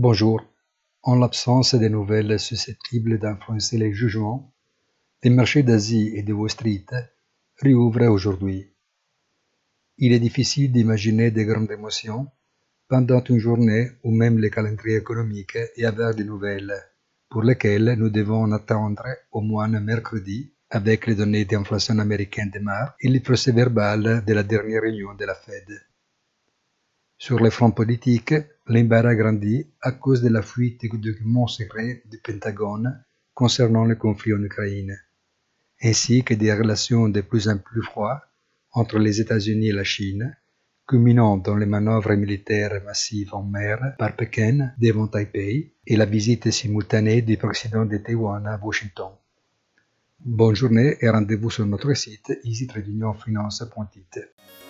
Bonjour. En l'absence de nouvelles susceptibles d'influencer les jugements, les marchés d'Asie et de Wall Street réouvrent aujourd'hui. Il est difficile d'imaginer de grandes émotions pendant une journée où même le calendrier économique est avare de nouvelles, pour lesquelles nous devons attendre au moins mercredi avec les données d'inflation américaines de mars et le procès-verbal de la dernière réunion de la Fed. Sur le front politique, l'embarras grandit à cause de la fuite des documents secrets du Pentagone concernant le conflit en Ukraine, ainsi que des relations de plus en plus froides entre les États-Unis et la Chine, culminant dans les manœuvres militaires massives en mer par Pékin devant Taipei et la visite simultanée du président de Taïwan à Washington. Bonne journée et rendez-vous sur notre site easytradeunionfinance.it.